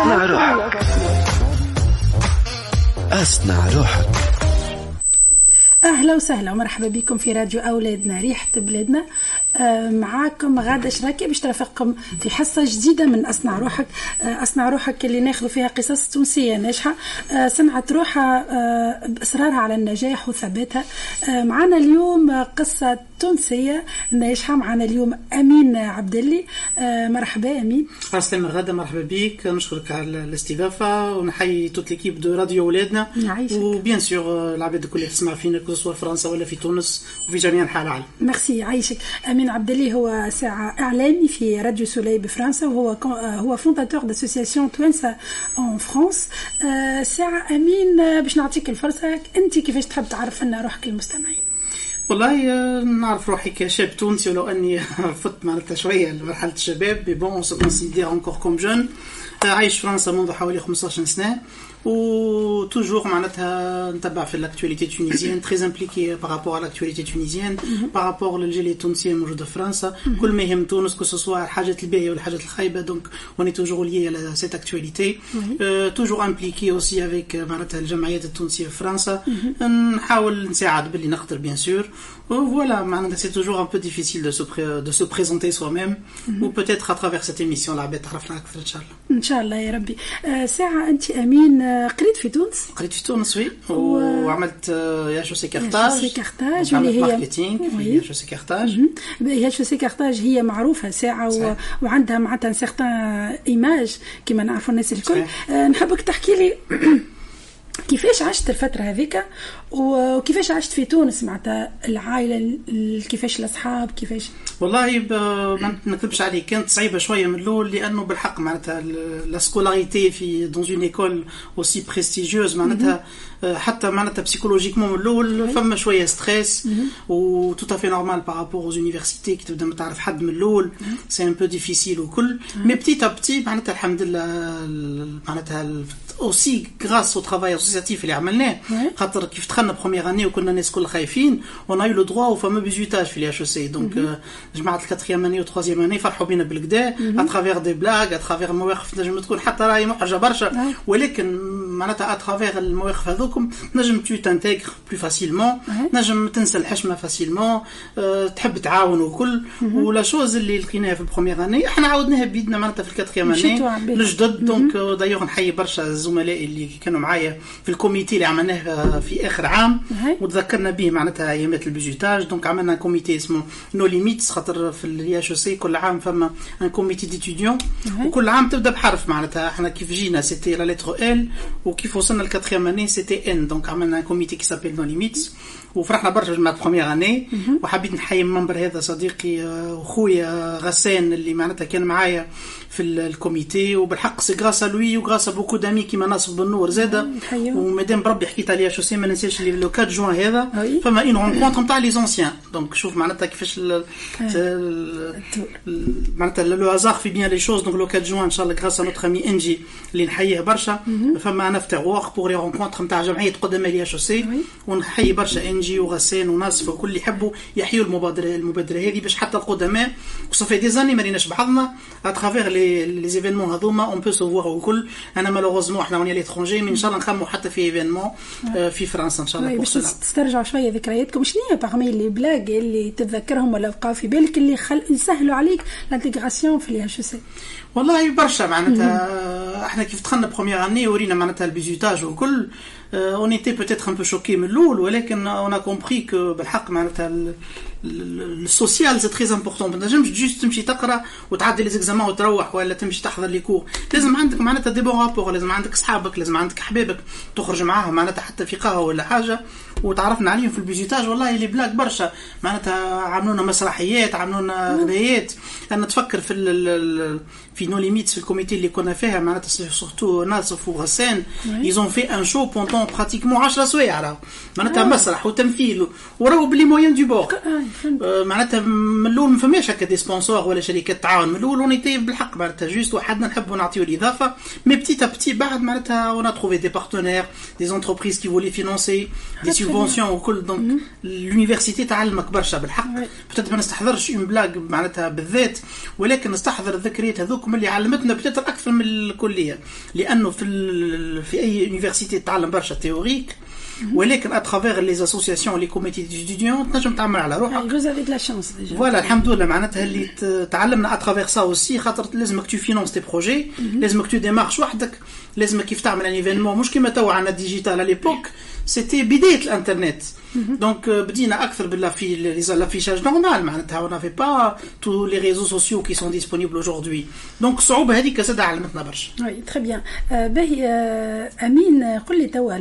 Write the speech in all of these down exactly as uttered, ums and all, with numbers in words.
أصنع روحك. أصنع روحك. أهلا وسهلا ومرحبا بكم في راديو أولادنا ريحة بلادنا. معاكم غادة شراكي باش ترافقكم في حصة جديدة من أصنع روحك. أصنع روحك اللي ناخذ فيها قصص تونسية ناجحة صنعت روحها بإصرارها على النجاح وثباتها. معنا اليوم قصة تونسية ناجحة. معنا اليوم أمين عبدالي. مرحبا أمين. أهلا غادة، مرحبا بك، نشكرك على الاستضافة ونحيي توت ليكيب دو راديو أولادنا وبيان سور العباد الكل اللي تسمع فينا سواء في فرنسا ولا في تونس وفي جميع أنحاء العالم. ميرسي عايشك. أمين عبدالي هو ساعة إعلامي في راديو سولي بفرنسا وهو هو فونداتور داسوسياسيون توانسة ان فرانس. ساعة أمين باش نعطيك الفرصة، أنت كيفاش تحب تعرف لنا روحك المستمعين؟ والله نعرف روحي كشاب تونسي ولو أني فت معناتها شوية لمرحلة الشباب، mais bon on se considère encore comme jeune. عايش في فرنسا منذ حوالي خمسطاش سنة و toujours معناتها نتبع في l'actualité tunisienne, très impliqué par rapport à l'actualité tunisienne, par rapport للجالية التونسية الموجودة في فرنسا. كل ما يهم تونس que ce soit الحاجات الباهية والحاجات الخايبة, donc on est toujours lié à cette actualité. euh, toujours impliqué aussi avec معناتها الجمعيات التونسية في فرنسا. نحاول نساعد باللي نقدر bien sûr. Voilà, c'est toujours un peu difficile de se, pré- de se présenter soi-même. Mm-hmm. Ou peut-être à travers cette émission la بيت تعرفنا أكثر إن شاء الله. إن شاء الله يا ربي. آه ساعة أنت أمين قريت في تونس؟ قريت في تونس وي و... وعملت يا شو سي كارتاج. يا شو سي كارتاج اللي هي ماركتينغ في يا شو سي كارتاج. يا شو سي كارتاج هي معروفة ساعة و... وعندها معناتها سيغتان إيماج كما نعرفوا الناس الكل. آه نحبك تحكي لي كيفاش عشت الفترة هذيك وكيفاش عشت في تونس معناتها العائلة، كيفاش الأصحاب، كيفاش؟ والله ما نكذبش عليك كانت صعيبة شوية من الأول لأنه بالحق معناتها لا سكولاريتي في دون اون ايكول اوسي بريستيجيوز معناتها حتى معناتها بسيكولوجيكمون من الأول فما شوية ستريس و tout à fait normal par rapport aux universités كي تبدا ما تعرف حد من الأول سي ان بو ديفيسيل وكل مي بتيت ا بتي معناتها الحمد لله معناتها aussi grâce au travail associatif اللي عملناه خاطر كيف دخلنا بروميير اني وكنا الناس كل خايفين on a eu le droit au fameux بيزوتاج في الاتش سي دونك جماعه الكاتريام اني وتروازيام اني فرحوا بينا بالكدا à travers des blagues à travers المواقف نجم تكون حتى راهي محرجه برشا ولكن معناتها à travers المواقف هذوكم نجم tu t'intègres plus facilement نجم تنسى الحشمه فاسيلمون تحب تعاون وكل ولا شوز اللي لقيناها في البروميير اني احنا عاودناها بيدنا معناتها في الكاتريام اني الجدد دونك دايوغ نحيي برشا زملائي اللي كانوا معايا في الكوميتي اللي عملناه في اخر عام وتذكرنا به معناتها ايامات البيجوتاج. دونك عملنا كوميتي اسمه نو ليميتس خاطر في اليا شو سي كل عام فما ان كوميتي ديتوديون وكل عام تبدا بحرف معناتها احنا كيف جينا سيتي لا لتر ال وكيف وصلنا الكاتريام اني سيتي ان. دونك عملنا كوميتي كي سابيل نو ليميتس وفرحنا برشا جماعه بروميير اني وحبيت نحيي المنبر هذا صديقي وخويا غسان اللي معناتها كان معايا في الكوميتي وبالحق سي غراس لوي وغراس بوكو دامي كيما ناصف بالنور زاده ومادام بربي حكيت عليها شو سي ما ننساش اللي لو أربعة جوان هذا فما اون رونكونتر نتاع لي زونسيان. دونك شوف معناتها كيفاش معناتها لو هازار في بيان لي شوز. دونك لو أربعة جوان ان شاء الله غراس نوتر امي انجي اللي نحييه برشا فما انا افتر وورك بور لي رونكونتر نتاع جمعيه قدامى لي شو سي ونحيي برشا انجي وغسان وناصف وكل اللي يحبوا يحيوا المبادره المبادره هذه باش حتى القدماء وصافي دي زاني ما ريناش بعضنا à travers les les événements هذوما on peut se voir وكل. انا مالوغوزمون احنا وني ليترونجي مي ان شاء الله نخمو حتى في ايفينمون في فرنسا ان شاء الله باش تسترجعوا شويه ذكرياتكم. شنو هي باغمي لي بلاغ اللي تتذكرهم ولا بقاو في بالك اللي خل... يسهلوا عليك لانتيغراسيون في الاتش سي؟ والله برشا معناتها احنا كيف دخلنا بروميير اني ورينا معناتها البيزوتاج وكل on était peut-être un peu choqué من الأول ولكن on a compris que بالحق معناتها السوسيال c'est très important. ما تنجمش جوست تمشي تقرا وتعدي لي زيكزامان وتروح ولا تمشي تحضر لي كور. لازم عندك معناتها دي بون رابور، لازم عندك اصحابك، لازم عندك احبابك تخرج معاهم معناتها حتى في قهوه ولا حاجه وتعرفنا عليهم في البيجيتاج. والله اللي بلاك برشا معناتها عملونا مسرحيات عملونا غنايات. انا تفكر في ال في نو ليميتس في الكوميتي اللي كنا فيها معناتها سورتو ناصف وغسان ils ont fait un show pendant pratiquement عشرة سوايع معناتها مسرح وتمثيل وراهو بلي موين دو بور معناتها من الاول ما فماش هكا دي سبونسور ولا شركات تعاون. من الاول اونيتي بالحق معناتها جوست وحدنا نحبوا نعطيو الاضافه، مي بتيت ا بتي بعد معناتها اون ا تروفي دي بارتنير دي انتربريز كي فولي فينونسي دي سوبونسيون وكل. دونك لونيفرسيتي تعلمك برشا بالحق. بتات ما نستحضرش اون بلاغ معناتها بالذات، ولكن نستحضر الذكريات هذوك من اللي علمتنا بتات اكثر من الكليه، لانه في في اي يونيفرسيتي تتعلم برشا تيوريك، ولكن اترافير لي اسوسياسيون لي كوميتي ديستوديون تنجم تعمل على روحك. جوز افيك لا شانس ديجا فوالا الحمد لله معناتها اللي تعلمنا اترافير سا اوسي، خاطر لازمك تو فينونس تي بروجي، لازمك تو ديمارش وحدك، لازمك كيف تعمل ان ايفينمون مش كيما تو عندنا ديجيتال على ليبوك سيتي بدايه الانترنت. دونك بدينا اكثر بالافي لافيشاج نورمال معناتها اون افي با تو لي ريزو سوسيو كي سون ديسپونيبل اودجوردي. دونك الصعوبه هذيك زاد علمتنا برشا. وي تري بيان. باهي امين قل لي توا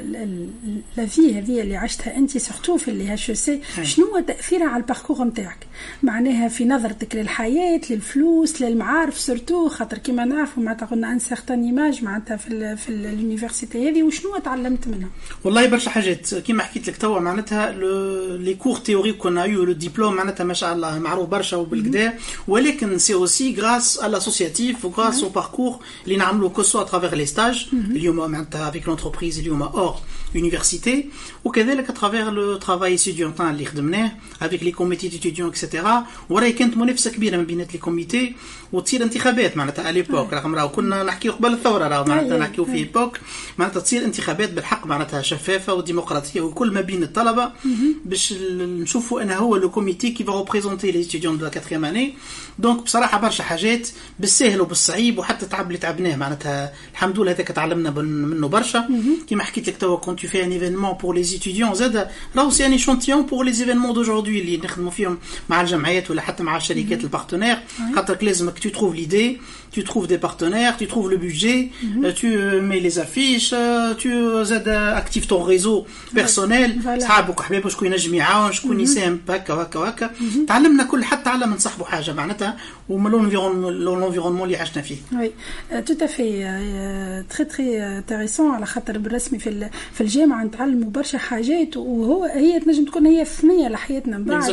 لا في هذه اللي عشتها انت سورتو في اللي هاش سي، شنو هو تاثيرها على الباركور نتاعك؟ معناها في نظرتك للحياه للفلوس للمعارف سورتو، خاطر كيما نعرفوا معناتها قلنا ان سيغتان ايماج معناتها في ال في اليونيفرسيتي هذه، وشنو تعلمت منها؟ والله برشا حاجات كيما حكيت لك توا معناتها لي كور تيوريك كنا يو لو ديبلوم معناتها ما شاء الله معروف برشا وبالكدا، ولكن سي اوسي غراس على لاسوسياتيف وغراس او باركور اللي نعملوا كوسو اترافير لي ستاج اليوم معناتها افيك لونتربريز اليوم اور يونيفرسيتي، وكذلك اترافير لو ترافاي ستوديونتان اللي خدمناه افيك لي كوميتي ديتوديون اكسيتيرا. وراهي كانت منافسه كبيره ما بينات لي كوميتي وتصير انتخابات معناتها اليبوك، رغم راهو كنا نحكيو قبل الثوره راهو معناتها نحكيو في ايبوك معناتها تصير انتخابات بالحق معناتها شفافه وديمقراطيه وكل ما بين الطلبه باش نشوفوا انا هو لو كوميتي كي فا ريبريزونتي لي ستوديون دو لا كاتريام اني. دونك بصراحه برشا حاجات بالسهل وبالصعيب وحتى تعب اللي تعبناه معناتها الحمد لله هذاك تعلمنا منه برشا. كيما حكيت لك توا كنت في ان ايفينمون بور لي ستوديون زاد راهو سي ان ايشونتيون بور لي ايفينمون دوجوردي اللي نخدموا فيهم مع الجمعيات ولا حتى مع الشركات البارتنير، خاطر لازمك tu trouves l'idée, tu trouves des partenaires, tu trouves le budget, mm-hmm. euh, tu mets les affiches, euh, tu euh, actives ton réseau personnel, صحابك وحبابك شكون ينجم يعاون شكون يساهم هكا وهكا وهكا. تعلمنا كل حتى على من صاحبه حاجه معناتها ومن l'environnement اللي عشنا فيه. وي tout à fait très très intéressant على خاطر بالرسمي في في الجامعه نتعلموا برشا حاجات وهو هي تنجم تكون هي ثنيه لحياتنا من بعد.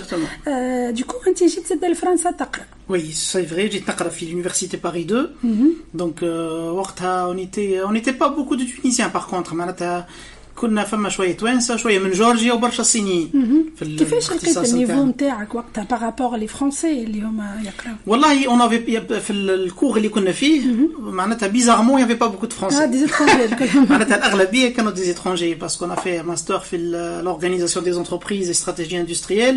دوكو انت جيت زاد لفرنسا تقرا. Oui, c'est vrai, j'ai نقرا في l'université Paris deux. Mm-hmm. Donc euh, وقتها on était on n'était pas beaucoup de Tunisiens par contre معناتها كنا فما شويه توانسه شويه من جورجيا وبرشا صينيين. في كيفاش لقيت النيفو نتاعك وقتها بارابور لي فرونسي اللي هما يقراو؟ والله اون افي في الكور اللي كنا فيه معناتها بيزارمون يافي با بوكو دو فرونسي. اه دي زيترونجي معناتها الاغلبيه كانوا دي زيترونجي باسكو انا في ماستر في لورغانيزاسيون دي انتربريز استراتيجي اندستريال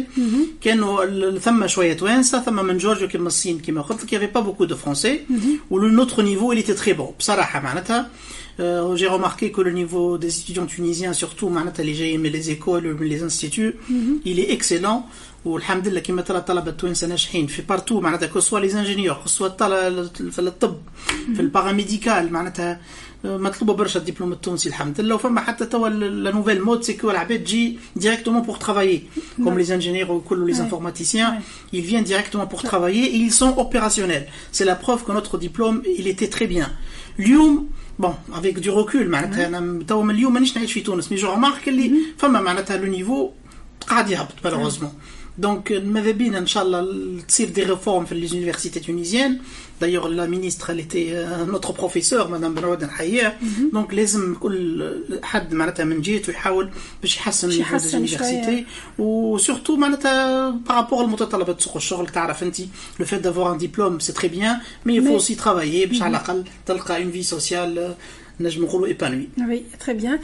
كانوا ثم شويه توانسه ثم من جورجيا كيما الصين كيما قلت لك يافي با بوكو دو فرونسي ولو نوتر نيفو اللي تي تري بون بصراحه معناتها. Euh, j'ai remarqué que le niveau des étudiants tunisiens, surtout les G M, les écoles, les instituts, mm-hmm. il est excellent. والحمد لله كما ترى الطلبه التوانسه ناجحين في بارتو معناتها كو سوا لي انجينيور كو سوا في الطب في الباراميديكال معناتها مطلوبه برشا الدبلوم التونسي الحمد لله. وفما حتى توا لا نوفيل مود سي كو العباد تجي ديريكتومون بور ترافايي كوم لي انجينيور وكل لي انفورماتيسيان ils viennent directement pour travailler et ils sont opérationnels. C'est la preuve que notre diplôme il était très bien. اليوم bon avec du recul معناتها انا توا من اليوم مانيش نعيش في تونس مي جو رمارك اللي فما معناتها لو نيفو قاعد يهبط malheureusement. Donc ماذا بينا ان شاء الله تصير دي ريفورم في لي يونيفرسيتي تونيزيان. d'ailleurs la ministre elle était euh, notre professeur madame بنود نحييها. donc لازم كل حد معناتها من جهته يحاول باش يحسن اليونيفرسيتي وسورتو معناتها بارابور المتطلبات سوق الشغل. تعرف انت لو فيت دافوار ان ديبلوم سي تري بيان مي il faut aussi travailler باش على الاقل تلقى اون في سوسيال نجم نقولوا ايبانوي. وي تري بيان.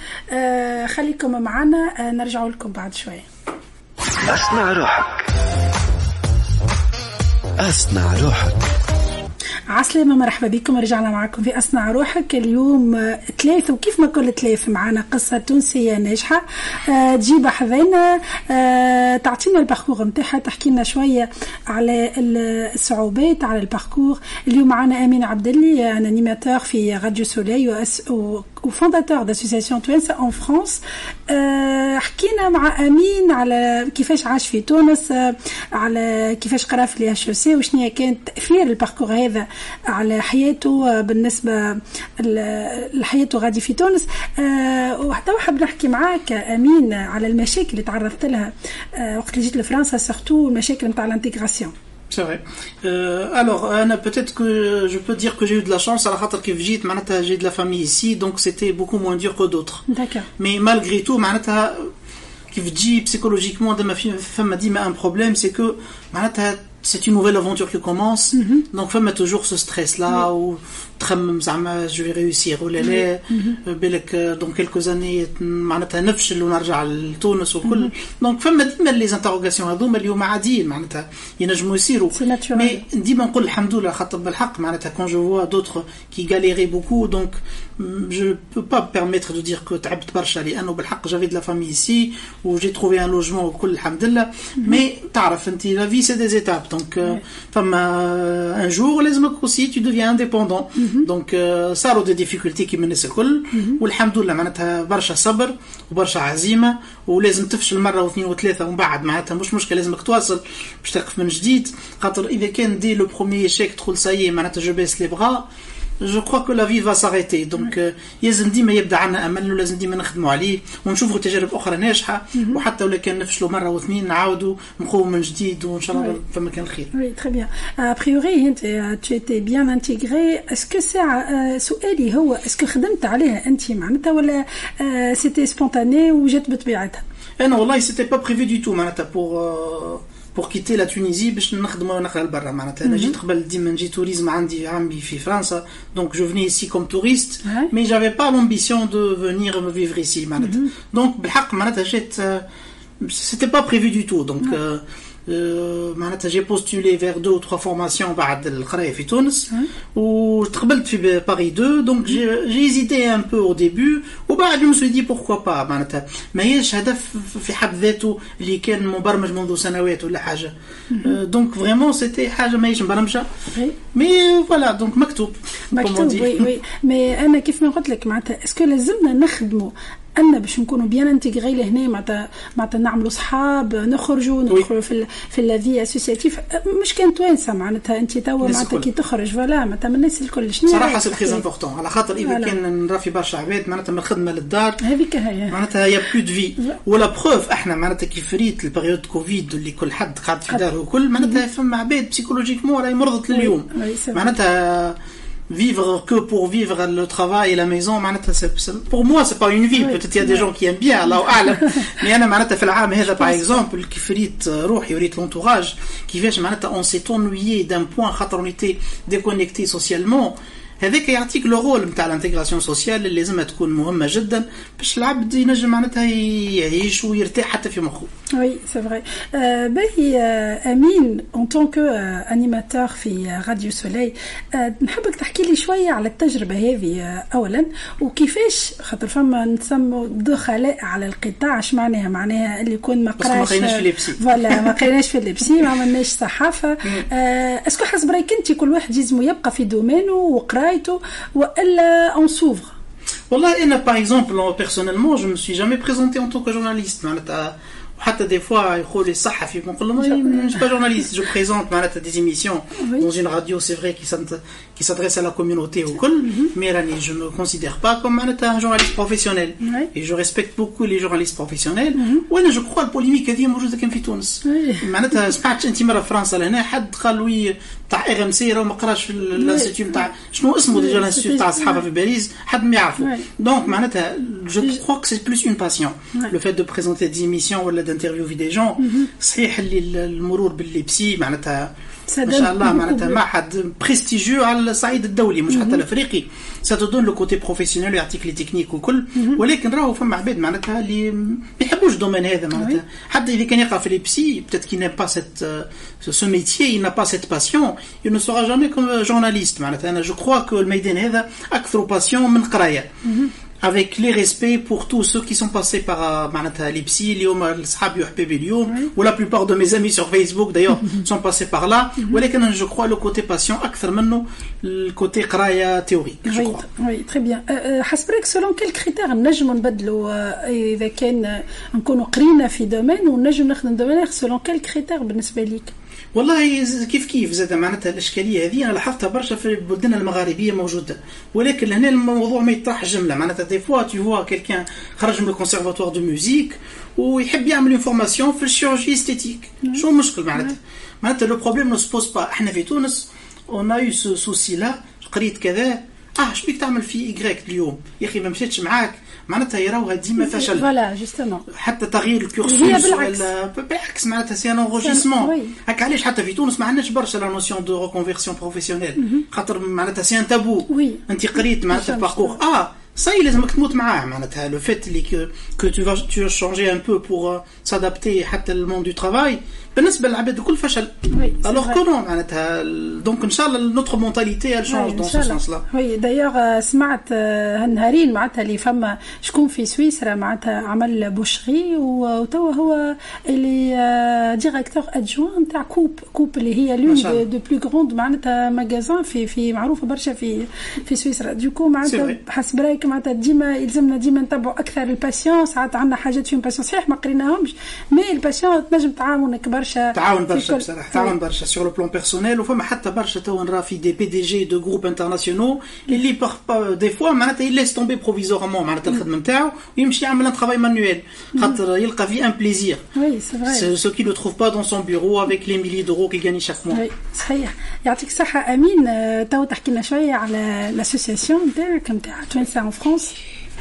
خليكم معنا نرجعوا لكم بعد شويه. أصنع روحك أصنع روحك. عسلامة مرحبا بكم. رجعنا معكم في أصنع روحك. اليوم ثلاث وكيف ما كل ثلاث معنا قصة تونسية ناجحة أه تجيب حذينا أه تعطينا الباركور متاعها تحكي لنا شوية على الصعوبات على الباركور. اليوم معنا أمين عبدالي أنا انيماتور في راديو سولي وفونداتور داسوسياسيون توانسة اون فرانس. حكينا مع امين على كيفاش عاش في تونس، على كيفاش قرا في الاتش او سي، وشنو كان تاثير الباركور هذا على حياته بالنسبه لحياته غادي في تونس. وحتى حاب نحكي معاك امين على المشاكل اللي تعرضت لها وقت اللي جيت لفرنسا، سورتو المشاكل نتاع الانتيغراسيون. C'est vrai. Euh, alors, Anna, peut-être que je peux dire que j'ai eu de la chance. À la khatar kif jit, manata, j'ai de la famille ici, donc c'était beaucoup moins dur que d'autres. D'accord. Mais malgré tout, manata, kif jit psychologiquement, de ma femme m'a dit, mais un problème, c'est que manata, c'est une nouvelle aventure qui commence. Mm-hmm. Donc, femme a toujours ce stress-là, mm-hmm. où je vais réussir, ou l'élé, mm-hmm. dans quelques années, manata, نفشل ونرجع لتونس وكل. Donc, femme m'a dit, mais les interrogations, هذوما اليوم عاديين, manata, ينجموا يصيروا. Mais, ديما نقول الحمد لله خاطر بالحق, manata, quand je vois d'autres qui galéraient beaucoup, donc, je peux pas me permettre de dire que تعبت برشا لأنه بالحق j'avais de la famille ici, où j'ai trouvé un logement وكل الحمد لله. Mais, تعرف, la vie c'est des étapes. Donc, euh, femme, euh, un jour, لازمك aussi, tu deviens indépendant. Mm-hmm. Donc, euh, صاروا des difficultés qui menaient الكل. Mm-hmm. والحمد لله معناتها برشا صبر وبرشا عزيمة، ولازم تفشل مرة واثنين وثلاثة ومن بعد معناتها مش مشكلة، لازمك تواصل باش تقف من جديد. خاطر إذا كان دي لو بروميي échec تقول سايي معناتها je baisse les bras، je crois que la vie va s'arrêter. donc لازم ديما يبدا عنا امل، ولازم ديما نخدموا عليه ونشوفوا تجارب اخرى ناجحه، وحتى لو كان نفشلوا مره واثنين نعاودوا نقوموا من جديد وان شاء الله فما كان الخير. Oui, très bien. A priori انت tu étais bien intégré. Est-ce que c'est سؤالي هو est-ce que خدمت عليها انت معناتها ولا c'était spontané وجات بطبيعتها؟ انا والله c'était pas prévu du tout معناتها pour pour quitter la Tunisie باش نخدموا نخرج لبرا معناتها. انا جيت قبل ديما نجي توريزم، عندي عمي في فرنسا، donc je venais ici comme touriste, ouais. mais j'avais pas l'ambition de venir me vivre ici معناتها. mm-hmm. donc بالحق معناتها جيت c'était pas prévu du tout. donc ouais. euh, Euh, معناتها j'ai postulé vers deux ou trois formations بعد القراية في تونس وتقبلت في باري deux. donc j'ai, j'ai hésité un peu au début وبعد je me suis dit pourquoi pas معناتها ما هيش هدف في حد ذاته اللي كان مبرمج منذ سنوات ولا حاجة. donc vraiment c'était حاجة ما هيش مبرمجة mais voilà donc مكتوب مكتوب. وي وي مي أنا كيف ما قلت لك معناتها اسكو لازمنا نخدموا أنا باش نكونوا بيان انتغري لهنا معناتها معناتها نعملوا صحاب، نخرجوا ندخلوا في في اللافي اسوسياتيف، مش كان توانسه معناتها انت توا معناتها كي تخرج فوالا معناتها من الناس الكل. شنو صراحه سي تري امبورطون على خاطر اذا كان نرى في برشا عباد معناتها من الخدمه للدار هذيك هي معناتها يا بلو دو في ولا بروف. احنا معناتها كيف فريت البريود كوفيد اللي كل حد قاعد في داره وكل معناتها فما عباد بسيكولوجيكمون راهي مرضت لليوم معناتها vivre que pour vivre le travail et la maison معناتها pour moi c'est pas une vie. peut-être il y a des gens qui aiment bien الله أعلم mais أنا معناتها في العام هذا par exemple كيف ريت روحي وريت l'entourage كيفاش معناتها on s'est ennuyé d'un point خاطر on était déconnecté socialement. هذاك يعطيك لو رول نتاع الانتغراسيون سوسيال اللي لازم تكون مهمه جدا باش العبد ينجم معناتها يعيش ويرتاح حتى في مخه. وي سي فري. باهي امين ان طون كو انيماتور في راديو سولي، نحبك تحكي لي شويه على التجربه هذه اولا وكيفاش خاطر فما نسموا دخلاء على القطاع. اش معناها؟ معناها اللي يكون ما قراش فوالا ما قريناش في اللبسي ما عملناش صحافه. اسكو حسب رايك انت كل واحد لازم يبقى في دومينه وقرايته وإلا on s'ouvre؟ والله أنا par exemple personnellement je me suis jamais présenté en tant que journaliste معناتها حتى des fois يقول لي صحفي بنقول له je suis pas journaliste, je présente معناتها des émissions oui. dans une radio c'est vrai qui qui s'adresse à la communauté وكل mais راني je me considère pas comme معناتها un journaliste professionnel oui. et je respecte beaucoup les journalistes professionnels. mm-hmm. وانا je crois البوليميك هذه موجوده كان في تونس. oui. معناتها سمعت انت مره فرنسا لهنا حد قال وي تاع ار ام سي راه ما قراش في الانستيتيوت نتاع شنو اسمه ديجا الانستيتيوت تاع الصحافه في باريس حد ما يعرفه. دونك معناتها je crois que c'est plus une passion le fait de présenter des émissions ولا d'interviewer des gens. صحيح اللي المرور باللبسي معناتها ما شاء الله معناتها معهد بريستيجيو على الصعيد الدولي مش حتى الافريقي. ça te donne le côté professionnel يعطيك لي تكنيك وكل. ولكن راهو فما عباد معناتها اللي ما يحبوش الدومين هذا معناتها حتى اذا كان يقرا في لبسي peut-être qu'il n'a pas cette ce métier, il n'a pas cette passion, il ne sera jamais comme journaliste معناتها. انا je crois que الميدان هذا اكثر passion من قرايه. avec les respects pour tous ceux qui sont passés par معناتها les psy اليوم الصحاب يحبوا اليوم ou la plupart de mes amis sur Facebook d'ailleurs sont passés par là ولكن je crois le côté patient أكثر منه le côté قراية théorique je crois. Oui, très bien. حسب selon quels critères نجم نبدلوا إذا كان نكونوا قرينا في دومين ونجم نخدم دومين selon quels critères بالنسبة ليك؟ والله كيف كيف زاد معناتها الاشكاليه هذه انا لاحظتها برشا في بلدنا المغاربيه موجوده ولكن لهنا الموضوع ما يطرح جمله معناتها دي فوا tu vois quelqu'un خرج من الكونسيرفاتوار دو ميوزيك ويحب يعمل اون فورماسيون في الشيرورجي استيتيك شو المشكل معناتها معناتها لو بروبليم نو سبوز با احنا في تونس اون ا يو سو سوسي لا قريت كذا اه شبيك تعمل في إيكغيك اليوم يا اخي ما مشيتش معاك معناتها يراوها ديما فشل فوالا جوستومون حتى تغيير الكورسوس ولا بالعكس معناتها سي ان انغوجيسمون هكا علاش حتى في تونس ما عندناش برشا لا نوسيون دو ريكونفيرسيون بروفيسيونيل خاطر معناتها سي ان تابو انت قريت معناتها باركور اه صاي لازمك تموت معاه معناتها لو فيت اللي كو تو فا تو شانجي ان بو بور سادابتي حتى للموند دو ترافاي بالنسبه للعباد الكل فشل الوغ كو نو معناتها دونك ان شاء الله نوتر مونتاليتي ال شونج دون سو سونس لا. وي دايوغ سمعت هالنهارين معناتها اللي فما شكون في سويسرا معناتها عمل بوشري وتوا هو اللي ديريكتور ادجوان تاع كوب كوب اللي هي لون دو بلو غروند معناتها ماغازان في في معروفه برشا في في سويسرا دوكو معناتها حسب رايك معناتها ديما يلزمنا ديما نتبعوا اكثر الباسيون ساعات عندنا حاجات فيهم باسيون صحيح ما قريناهمش مي الباسيون تنجم تعاونك برشا تعاون برشا بصراحه تعاون برشا سور لو بلان بيرسونيل وفما حتى برشا تو نرا في دي بي دي جي دو جروب انترناسيونال اللي دي فوا معناتها يليس تومبي بروفيزورمون معناتها الخدمه نتاعو ويمشي يعمل ان ترافاي مانويل خاطر يلقى فيه ان بليزير وي سي فري سو كي لو تروف با دون سون بيرو افيك لي ميلي دورو كي غاني شاك موا. صحيح يعطيك الصحه امين. تو تحكي لنا شويه على لاسوسياسيون نتاعك نتاع توانسه ان فرانس.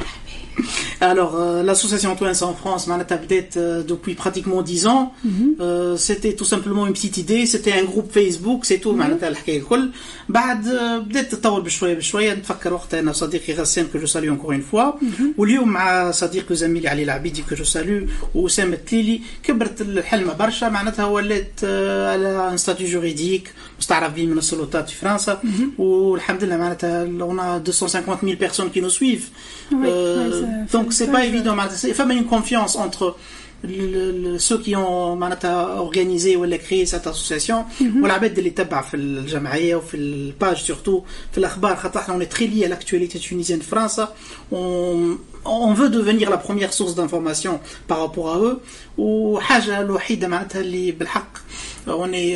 Alors, euh, l'association Twins en France, معناتها بدات euh, depuis pratiquement dix ans. Mm-hmm. Euh, c'était tout simplement une petite idée, c'était un groupe Facebook, c'est tout. معناتها الحكايه الكل. بعد uh, بدات تطور بشويه بشويه. نتفكر وقتها انا صديقي غسان que je salue encore une fois. Mm-hmm. واليوم مع صديقي وزميلي علي العبيدي que je salue وأسامة تليلي كبرت الحلمه برشا معناتها ولات uh, على ان ستاتيو جوريديك مستعرف به من السلطات في فرنسا. Mm-hmm. والحمد لله معناتها on a deux cent cinquante mille personnes qui nous suivent. Oui, euh, donc c'est pas évident معناتها il faut une confiance entre le, le, ceux qui ont معناتها organisé ou créé cette association والعباد اللي تبع في الجمعيه وفي الباج surtout في الاخبار خاطر احنا on est très lié à l'actualité tunisienne de France. on on veut devenir la première source d'information par rapport à eux وحاجه الوحيده معناتها اللي بالحق on est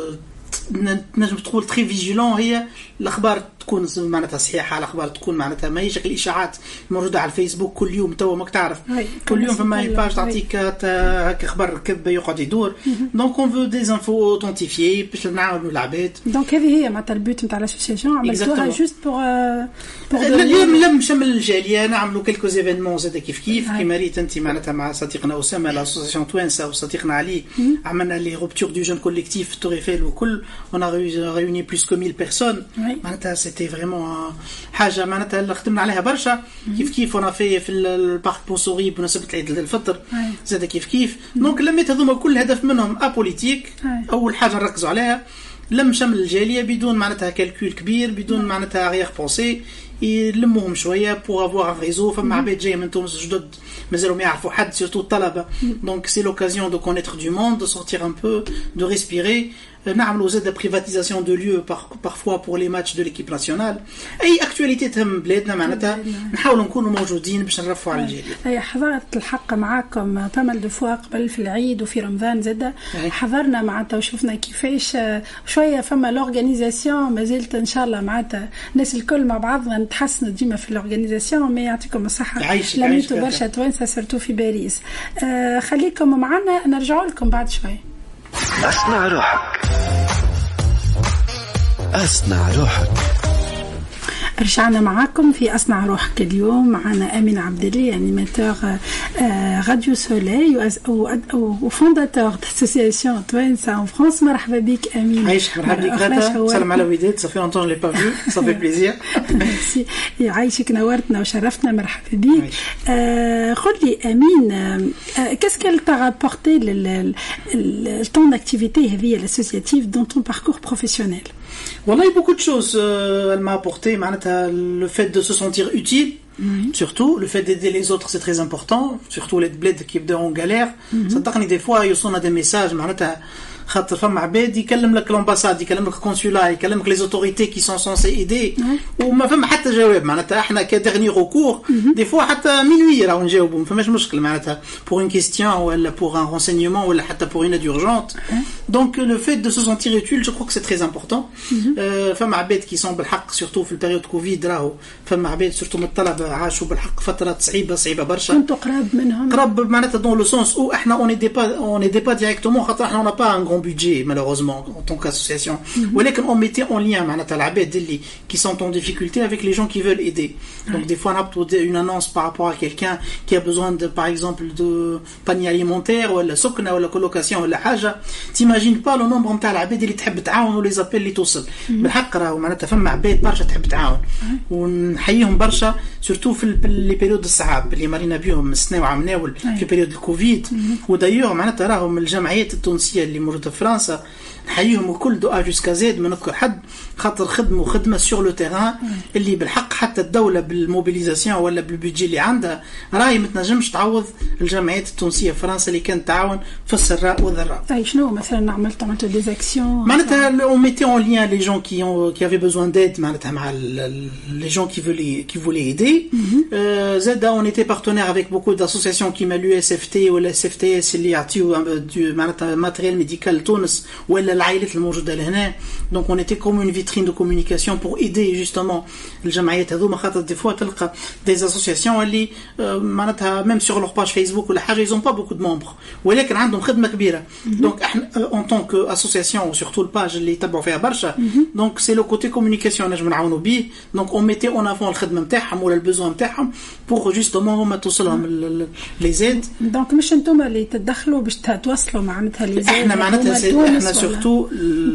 نجم تقول تري فيجيلون هي الاخبار تكون معناتها صحيحه الاخبار تكون معناتها ما هيش الاشاعات موجوده على الفيسبوك كل يوم توا ماك تعرف كل يوم فما باج تعطيك هكا خبر كذب يقعد يدور دونك اون فو دي انفو اوثنتيفيي باش نعاونوا العباد. دونك هذه هي معناتها البوت نتاع لاسوسياسيون عملتوها جوست بور اليوم لم شمل الجاليه نعملوا كلكو ايفينمون زاد كيف كيف كيما ريت انت معناتها مع صديقنا اسامه لاسوسياسيون توانسه وصديقنا علي عملنا لي روبتور دو جون كوليكتيف توريفيل وكل on a réuni plus que mille personnes. معناتها c'était vraiment حاجه معناتها خدمنا عليها برشا كيف كيف on a fait في البارك بونسوري بمناسبه العيد الفطر زاد كيف كيف دونك لميت هذوما كل هدف منهم ابوليتيك. اول حاجه نركزوا عليها لم شمل الجاليه بدون معناتها كالكول كبير بدون معناتها غير بونسي يلموهم شويه بور افوار ان ريزو فما عباد جايه من تونس جدد مازالوا ما يعرفوا حد سورتو الطلبه دونك سي لوكازيون دو كونيتر دو موند دو سورتير ان بو دو ريسبيري. نعملوا زاد بريفاتيزاسيون دو ليو بارفوا بور لي ماتش دو ليكيب ناسيونال اي اكtualité تهم بلادنا معناتها نحاولوا نكونوا موجودين باش نرفعوا على الجاليه. اي حضرت الحق معاكم بامل دو فوا قبل في العيد وفي رمضان زاد حضرنا معناتها وشفنا كيفاش شويه فما لورغانيزاسيون مازالت ان شاء الله معناتها الناس الكل مع بعضنا نتحسنوا ديما في لورغانيزاسيون مي يعطيكم الصحه لميتوا برشا توانسه سورتو في باريس. آه خليكم معنا نرجعوا لكم بعد شويه. أصنع روحك أصنع روحك. رجعنا معاكم في أصنع روحك. اليوم معنا أمين عبد الله أنيماتور راديو سولي وفونداتور داسوسياسيون توانسه ان فرانس. مرحبا بك أمين. عايش مرحبا بك غدا. سلام على وداد صافي لونتون لي با فيو صافي بليزير. ميرسي يعيشك نورتنا وشرفتنا مرحبا بك. قل لي أمين qu'est-ce qu'elle t'a rapporté le temps d'activité هذه l'associative dans ton parcours professionnel؟ Voilà, beaucoup de choses. Euh, elle m'a apporté le fait de se sentir utile, mm-hmm. surtout le fait d'aider les autres, c'est très important. Surtout les bleds qui sont en galère. Mm-hmm. Ça t'arrive des fois, ils sont à des messages. خاطر فما عباد يكلم لك الامباساد يكلم لك الكونسولا يكلم لك لي زوتوريتي كي سون سونسي ايدي وما فما حتى جواب معناتها احنا كدغني ريكور دي فوا حتى مينوي راهو نجاوبوا ما فماش مشكل معناتها بور اون كيستيون ولا بور ان رونسينيومون ولا حتى بور اون دورجونت دونك لو فيت دو سو سونتير يوتيل جو كرو كو سي تري امبورطون فما عباد كي سون بالحق سورتو في البيريود كوفيد راهو فما عباد سورتو من الطلبه عاشوا بالحق فترات صعيبه صعيبه برشا كنتوا قراب منهم قراب معناتها دون لو سونس او احنا اون دي با اون دي با ديريكتومون خاطر احنا اون با ان budget malheureusement en tant qu'association ولكن on mettait en lien معناتها العباد اللي qui sont en difficulté avec les gens qui veulent aider donc des fois on a une annonce par rapport à quelqu'un qui a besoin de par exemple de panier alimentaire ولا سكنه ولا colocation ولا حاجه t'imagines pas le nombre نتاع العباد اللي تحب تعاون ولا زابيل اللي توصل بالحق راهو معناتها فما عباد برشا تحب تعاون ونحييهم برشا سورتو في لي بيريود الصعاب اللي مرينا بهم السنه وعمناول في بيريود الكوفيد ودايور معناتها راهو من الجمعيات التونسيه اللي موجوده في فرنسا نحييهم الكل دو ا جوسكا زد ما نذكر حد خاطر خدموا خدمه سور لو تيران اللي بالحق حتى الدوله بالموبيليزاسيون ولا بالبيدجي اللي عندها راهي ما تنجمش تعوض الجمعيات التونسيه في فرنسا اللي كانت تعاون في السراء والضراء. طيب شنو مثلا عملتوا عملتوا دي اكسيون معناتها اون ميتي اون لين لي جون كي اون كي افي بوزوان ديد معناتها مع لي جون كي فولي كي فولي ايدي زاد اون ايتي بارتنير افيك بوكو داسوسياسيون كيما اليو اس اف تي ولا اس اف تي اس اللي يعطيو معناتها ماتريال ميديكال تونس ولا العائلات الموجوده لهنا دونك اون ايتي كوم اون فيترين دو كومونيكاسيون بور ايدي جوستومون الجمعيات هذوما خاطر دي فوا تلقى دي اسوسياسيون اللي معناتها ميم سور لور باج فيسبوك ولا حاجه يزون با بوكو دو ممبر ولكن عندهم خدمه كبيره دونك احنا اون طونك اسوسياسيون سورتو الباج اللي يتبعوا فيها برشا دونك سي لو كوتي كومونيكاسيون نجم نعاونوا بيه دونك اون ميتي اون افون الخدمه نتاعهم ولا البوزوان نتاعهم بور جوستومون هما توصلهم لي زيد دونك مش انتم اللي تدخلوا باش توصلوا معناتها لي زيد احنا معناتها احنا سورتو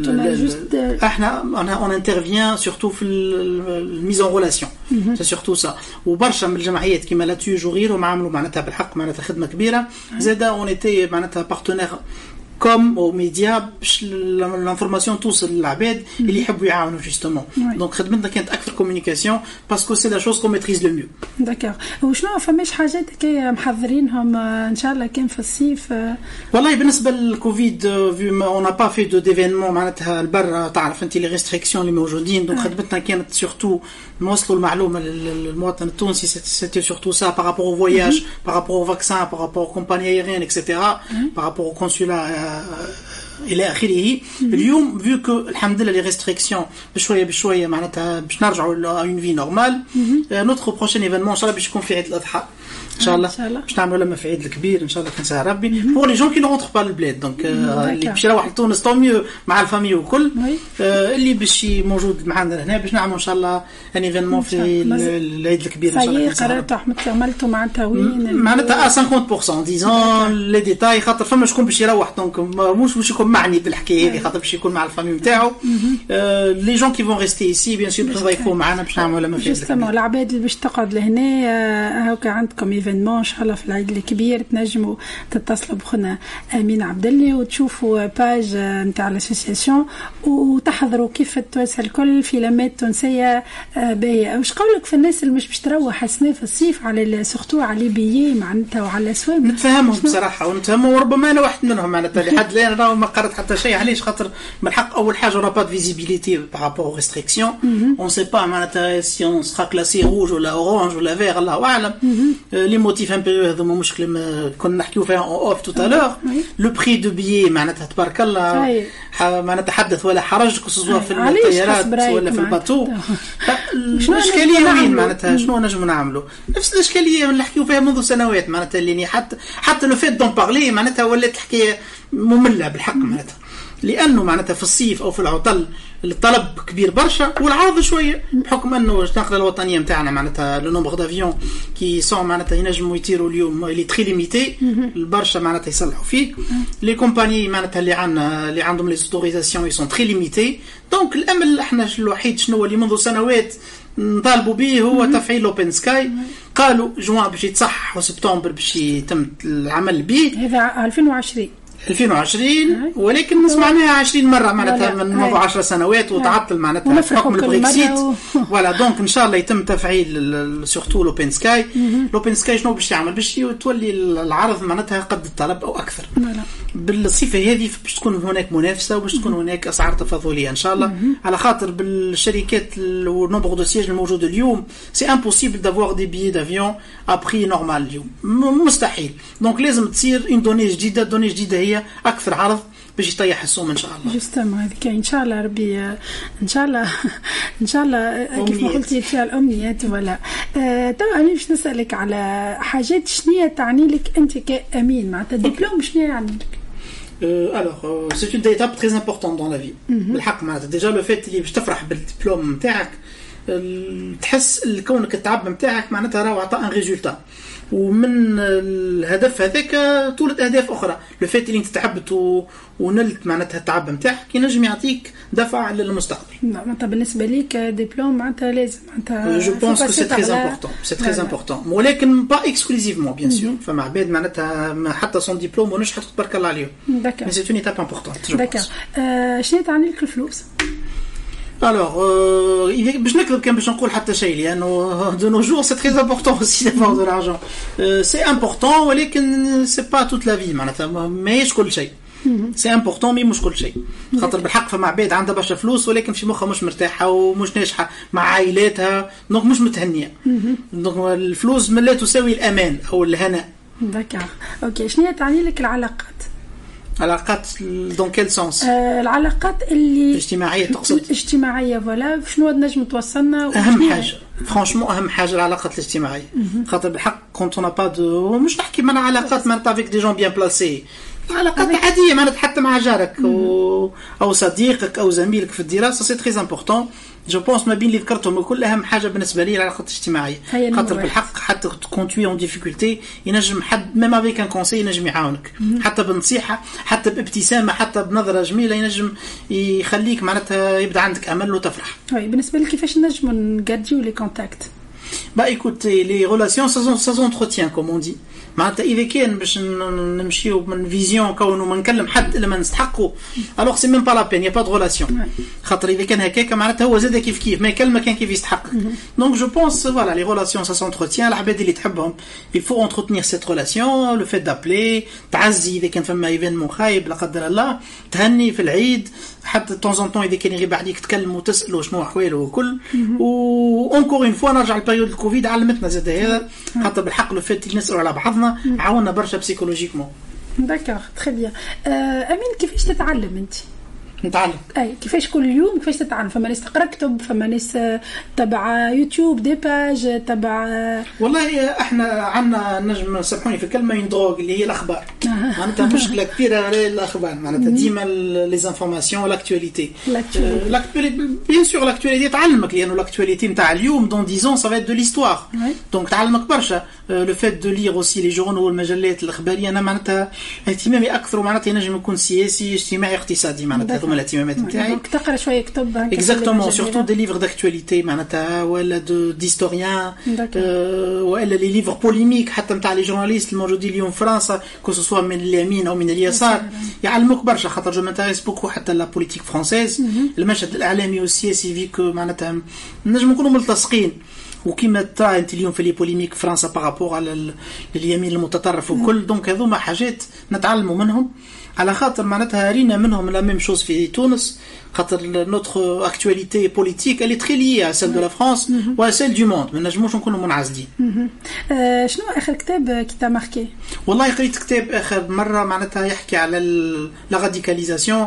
احنا اون انترفيان سورتو في الميز اون ريلاسيون سي سورتو سا وبرشا من الجمعيات كيما لا تيو جوغير وما عملوا معناتها بالحق معناتها خدمه كبيره زاده اون ايتي معناتها بارتنير كوم او ميديا باش لانفورماسيون توصل للعباد اللي يحبوا يعاونوا جوستومون دونك خدمتنا كانت اكثر كومونيكاسيون باسكو سي لا شوز كو ميتريز لو ميو. داكور وشنو فماش حاجات كي محضرينهم ان شاء الله كان في الصيف؟ والله بالنسبه للكوفيد في اون با في دو ديفينمون معناتها البر تعرف انت لي ريستريكسيون اللي موجودين دونك خدمتنا كانت سورتو نوصلوا المعلومه للمواطن التونسي سيتي سورتو سا بارابور او فواياج بارابور او فاكسان بارابور كومباني ايرين اكسيتيرا بارابور او كونسولا الى اخره. اليوم فيو كو الحمد لله لي ريستريكسيون بشويه بشويه معناتها باش نرجعوا ل اون في نورمال نوتر بروشين ايفينمون ان شاء الله باش يكون في عيد الاضحى ان شاء الله باش نعملوا لما في عيد الكبير ان شاء الله كنسى ربي بور لي جون كي نونتر با البلاد دونك اللي باش يروح لتونس طو ميو مع الفامي وكل اللي باش موجود معنا هنا باش نعملوا ان شاء الله ان ايفينمون في العيد الكبير ان شاء الله. قررتوا عملتوا معناتها وين معناتها خمسين بالمية ديزون لي ديتاي خاطر فما شكون باش يروح دونك مش باش يكون معني بالحكايه هذه خاطر باش يكون مع الفامي نتاعو لي جون كي فون ريستي ايسي بيان سور باش يكونوا معنا باش نعملوا لما في جوستومون العباد اللي باش تقعد لهنا هاكا عندكم ايفينمون ان شاء الله في العيد الكبير تنجموا تتصلوا بخنا امين عبد الله وتشوفوا باج نتاع الاسوسياسيون وتحضروا كيف التوانسه الكل فيلمات تونسيه باهيه. واش قولك في الناس اللي مش باش تروح السنه في الصيف على سورتو على بيي معناتها وعلى الاسواق؟ نتفاهمهم بصراحه ونتفاهموا وربما انا واحد منهم معناتها لحد الان راه ما قررت حتى شيء علاش خاطر من الحق اول حاجه اون با دو فيزيبيليتي بارابور او ريستريكسيون اون سي با معناتها سي اون سرا كلاسي روج ولا اورانج ولا فيغ الله اعلم لي موتيف امبيريو هذوما مشكله كنا نحكيو فيها اون اوف تو الور لو بري دو بيي معناتها تبارك الله ما نتحدث ولا حرج كسوا في الطيارات ولا في الباتو. الاشكاليه وين معناتها شنو نجم نعملوا نفس الاشكاليه اللي نحكيو فيها منذ سنوات معناتها اللي حتى حتى لو فيت دون بارلي معناتها ولات الحكايه ممله بالحق معناتها لانه معناتها في الصيف او في العطل الطلب كبير برشا والعرض شويه بحكم انه النقله الوطنيه نتاعنا معناتها لو نومبر دافيون كي سون معناتها ينجموا يطيروا اليوم اللي تري ليميتي البرشا معناتها يصلحوا فيه لي كومباني معناتها اللي عندنا اللي عندهم لي اوتوريزاسيون يسون تري ليميتي دونك الامل احنا الوحيد شنو اللي منذ سنوات نطالبوا به هو تفعيل اوبن سكاي قالوا جوان باش يتصحح وسبتمبر باش يتم العمل به هذا ألفين وعشرين ألفين وعشرين ولكن سمعناها عشرين مره معناتها من موضوع عشر سنوات وتعطل معناتها حكم البريكسيت. فوالا دونك ان شاء الله يتم تفعيل سورتو لوبن سكاي. لوبن سكاي شنو باش يعمل؟ باش تولي العرض معناتها قد الطلب او اكثر. بالصفه هذه باش تكون هناك منافسه وباش تكون هناك اسعار تفاضليه ان شاء الله، على خاطر بالشركات والنومبر دو سياج الموجود اليوم سي امبوسيبل دافوار دي بيي دافيون ا بري نورمال اليوم، مستحيل. دونك لازم تصير اون دوني جديده. دوني جديده هي اكثر عرض باش يطيح السوم ان شاء الله. جوستومون هذيك ان شاء الله ربي ان شاء الله ان شاء الله كيف ما قلتي فيها الامنيات. ولا آه تو انا باش نسالك على حاجات شنية تعني لك انت كامين معناتها دبلوم شنية يعني لك؟ Euh, alors, euh, c'est une étape très importante dans la vie. بالحق معناتها ديجا لو فات اللي باش تفرح بالدبلوم نتاعك، تحس كونك التعب نتاعك معناتها راهو عطى ان ريزولتا، ومن الهدف هذاك طولت اهداف اخرى. لو فات اللي انت تعبت و... ونلت معناتها التعب نتاعك ينجم يعطيك دفع للمستقبل. معناتها بالنسبه ليك دبلوم معناتها لازم معناتها جو بونس كو سي تري امبورطون سي تري امبورطون، ولكن با اكسكلوزيفمون بيان سور. فما عباد معناتها حتى سون دبلوم ونجحت تبارك الله عليهم. داكور، مي سي اون ايتاب امبورطون. داكور. شنو تعني لك الفلوس؟ Alors, euh, باش نكذب كان باش نقول حتى شيء، لأنه de nos jours c'est très important aussi d'avoir de l'argent. Euh, c'est important ولكن c'est pas toute la vie معناتها ماهيش كل شيء. c'est important مي مش كل شيء. خاطر بالحق فما عباد عندها برشا فلوس ولكن في مخها مش مرتاحة ومش ناجحة مع عائلاتها، دونك مش متهنية. دونك الفلوس لا تساوي الأمان أو الهناء. داكور، أوكي. شنو تعني لك العلاقات؟ علاقات دون كيل سونس؟ آه العلاقات اللي الاجتماعيه تقصد؟ الاجتماعيه فوالا. شنو نجم توصلنا؟ اهم حاجه فرانشمون اهم حاجه العلاقات الاجتماعيه. خاطر بالحق كونت اون با دو مش نحكي مع علاقات معناتها افيك دي جون بيان بلاسي، علاقات عاديه معناتها حتى مع جارك او او صديقك او زميلك في الدراسه سي تري امبورطون. جو بونس ما بين اللي ذكرتهم كل اهم حاجه بالنسبه لي العلاقات الاجتماعيه. خاطر بالحق حتى كون تو اون ديفيكولتي ينجم حد ميم افيك ان كونساي ينجم يعاونك، حتى بنصيحه حتى بابتسامه حتى بنظره جميله ينجم يخليك معناتها يبدا عندك امل وتفرح. وي بالنسبه لك كيفاش نجموا نغاديو لي كونتاكت؟ Bah écoutez, les relations ça, ça s'entretient comme on dit. معناتها إذا كان باش نمشيو من فيزيون كونه ما نكلم حد إلا ما نستحقه، alors c'est même pas la peine, y a pas de relation. خاطر إذا كان هكاك معناتها هو زاد كيف كيف ما يكلمك كان كيف يستحق. Donc je pense voilà les relations ça s'entretient. العباد اللي تحبهم il faut entretenir cette relation. Le fait d'appeler تعزي إذا كان فما إيفينمون خايب لا قدر الله، تهني في العيد حتى de temps en temps إذا كان يغيب عليك تكلم وتسأله شنو أحواله وكل. و encore une fois نرجع لبريود الكوفيد علمتنا زاد هذا، خاطر بالحق لو فات اللي نسألوا على بعضنا عاونا برشا بسيكولوجيكمون. داكور تري بيان. امين كيفاش تتعلم انت؟ نتعلم اي كيفاش كل يوم كيفاش تتعلم؟ فما ناس تقرا كتب، فما ناس تبع يوتيوب دي باج تبع. والله احنا عندنا نجم سامحوني في الكلمه اون دروغ اللي هي الاخبار. معناتها مشكله كبيره الاخبار معناتها ديما لي انفورماسيون لاكtualité. لاكtualité بيان سور لاكtualité تعلمك، لانه لاكtualité نتاع اليوم دون dix ans ça va être de l'histoire. دونك تعلمك برشا. لو فات دو لير اوسي لي جورنال والمجلات الاخباريه انا معناتها اهتمامي اكثر معناتها ينجم يكون سياسي اجتماعي اقتصادي معناتها هذوما الاهتمامات نتاعي. دونك تقرا شويه كتب اكزاكتومون سورتو دي ليفر داكtualité معناتها ولا دو ديستوريان ولا لي ليفر بوليميك حتى نتاع لي جورناليست الموجودين اليوم في فرنسا كو سوا من اليمين او من اليسار يعلموك برشا. خاطر جو مانتيريس بوكو حتى لا بوليتيك فرونسيز المشهد الاعلامي والسياسي فيك معناتها نجم نكونوا ملتصقين. وكما ترى انت اليوم في لي بوليميك فرنسا بارابور على اليمين المتطرف وكل. دونك هذوما حاجات نتعلموا منهم على خاطر معناتها رينا منهم لا ميم شوز في تونس. خاطر نوتر اكtualité politique elle est très liée à celle de la France ou à celle du monde. ما نجموش نكونوا منعزلين. شنو اخر كتاب كي تا ماركي؟ والله قريت كتاب اخر مره معناتها يحكي على لا راديكاليزاسيون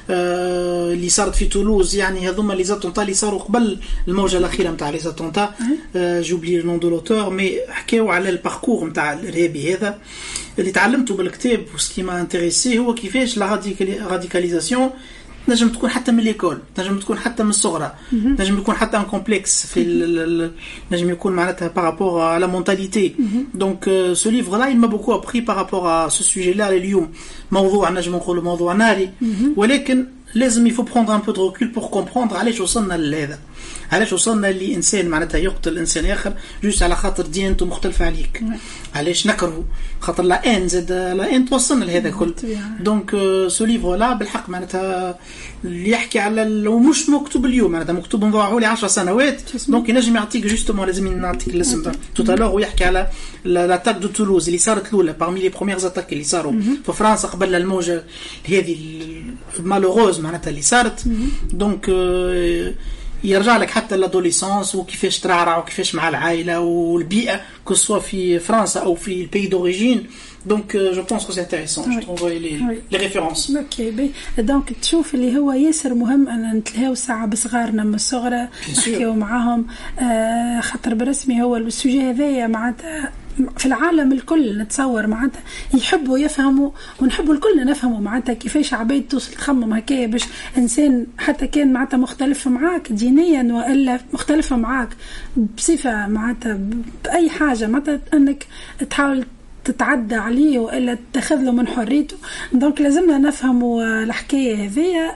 اللي صارت في تولوز. يعني هذوما لي زاتونتا اللي صاروا قبل الموجه الاخيره نتاع لي زاتونتا. جوبلي لو نون دو لوتور مي حكاو على الباركور نتاع الارهابي هذا اللي تعلمته بالكتاب. وسكي ما انتريسي هو كيفاش لا راديكاليزاسيون نجم تكون حتى من ليكول، نجم تكون حتى من الصغرى، نجم يكون حتى ان كومبلكس في نجم يكون معناتها بارابور على مونتاليتي. دونك سو ليفر لا il m'a beaucoup appris par rapport à ce sujet là. اليوم موضوع نجم نقول موضوع ناري ولكن لازم يفو prendre un peu de recul pour comprendre علاش وصلنا لهذا. علاش وصلنا لإنسان معناتها يقتل إنسان آخر جوست على خاطر ديانته مختلفة عليك؟ علاش نكره خاطر لا ان زاد لا ان توصلنا لهذا كل. دونك سو ليفر لا بالحق معناتها اللي يحكي على ومش مكتوب اليوم معناتها مكتوب نضاعوا لي عشر سنوات دونك ينجم يعطيك جوستومون لازم نعطيك الاسم توتالور ويحكي على لاتاك دو تولوز اللي صارت الاولى parmi لي بروميير اتاك اللي صاروا في فرنسا قبل الموجه هذه مالوغوز معناتها اللي صارت. دونك يرجع لك حتى لادوليسونس وكيفاش ترعرع وكيفاش مع العائله والبيئه كو سوا في فرنسا او في البي دوريجين. دونك جو بونس كو سي انتريسون جو تروفي لي لي ريفيرونس. اوكي بي دونك تشوف اللي هو ياسر مهم ان نتلهاو ساعه بصغارنا من الصغر نحكيو معاهم آه خاطر برسمي هو السوجي هذايا معناتها في العالم الكل نتصور معناتها يحبوا يفهموا ونحبوا الكل نفهموا معناتها كيفاش عباد توصل تخمم هكايا باش انسان حتى كان معناتها مختلف معاك دينيا والا مختلف معاك بصفه معناتها باي حاجه معناتها انك تحاول تتعدى عليه والا تاخذ له من حريته. دونك لازمنا نفهموا الحكايه هذيا.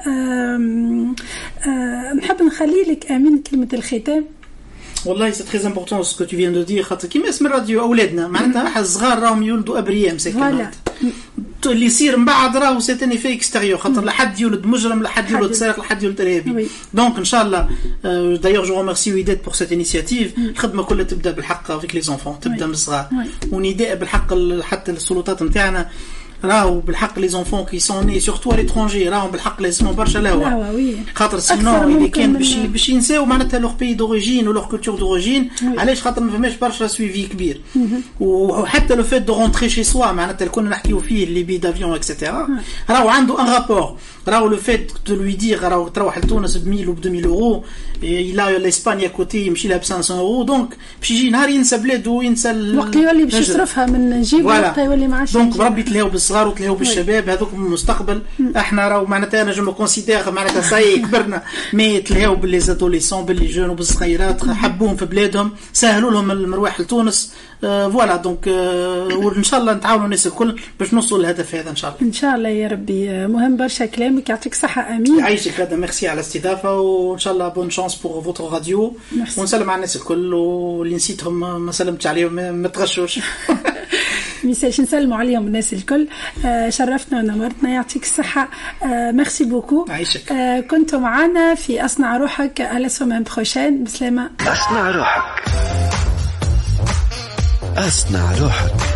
نحب نخلي لك امين كلمه الختام. والله سي تري امبورطون سكو تو فيان دو دير خاطر كيما اسم الراديو اولادنا معناتها حق الصغار راهم يولدوا ابرياء مساكين اللي يصير من بعد راهو سيتاني في اكستيريور خاطر لحد يولد مجرم لحد يولد سارق لحد يولد ارهابي. دونك ان شاء الله دايوغ جو ريميرسي ويدات بور سيت انيشيتيف. الخدمه كلها تبدا بالحق افيك لي زونفون تبدا من الصغار ونداء بالحق حتى السلطات نتاعنا راهو بالحق لي زونفون كي سون ني سورتو ا ليترونجي راهو بالحق لازم برشا لهوا خاطر سينو اللي كان باش باش ينساو معناتها لوغ بي دوريجين ولوغ كولتور دوريجين علاش خاطر ما فماش برشا سويفي كبير وحتى لو فيت دو رونتري شي سوا معناتها كنا نحكيو فيه اللي بي دافيون اكسيتيرا راهو عنده ان رابور راهو لو فيت دو لوي دير راهو تروح لتونس ب مية و ب deux mille اورو الى لاسبانيا كوتي يمشي لها ب خمسمية اورو دونك باش يجي نهار ينسى بلاده وينسى الوقت يولي باش يصرفها من جيبه وقت يولي معاش. دونك بربي تلاهو بالصغار وتلاهو بالشباب هذوك المستقبل. احنا راهو معناتها انا جو كونسيدير معناتها ساي كبرنا مي تلاهو باللي زادوليسون باللي جون وبالصغيرات حبوهم في بلادهم سهلوا لهم المروح لتونس. آه فوالا دونك آه وان شاء الله نتعاونوا الناس الكل باش نوصلوا للهدف هذا ان شاء الله. ان شاء الله يا ربي. مهم برشا كلامك يعطيك صحه امين. يعيشك هذا ميرسي على الاستضافه وان شاء الله بون شانس بور فوتر راديو ونسلم على الناس الكل واللي نسيتهم ما سلمتش عليهم ما تغشوش. ميساج نسلموا عليهم الناس الكل. آه شرفتنا ونورتنا يعطيك الصحة. آه ميرسي بوكو. عايشك. آه كنتوا معنا في أصنع روحك على سومان بروشين. بسلامة. أصنع روحك أصنع روحك.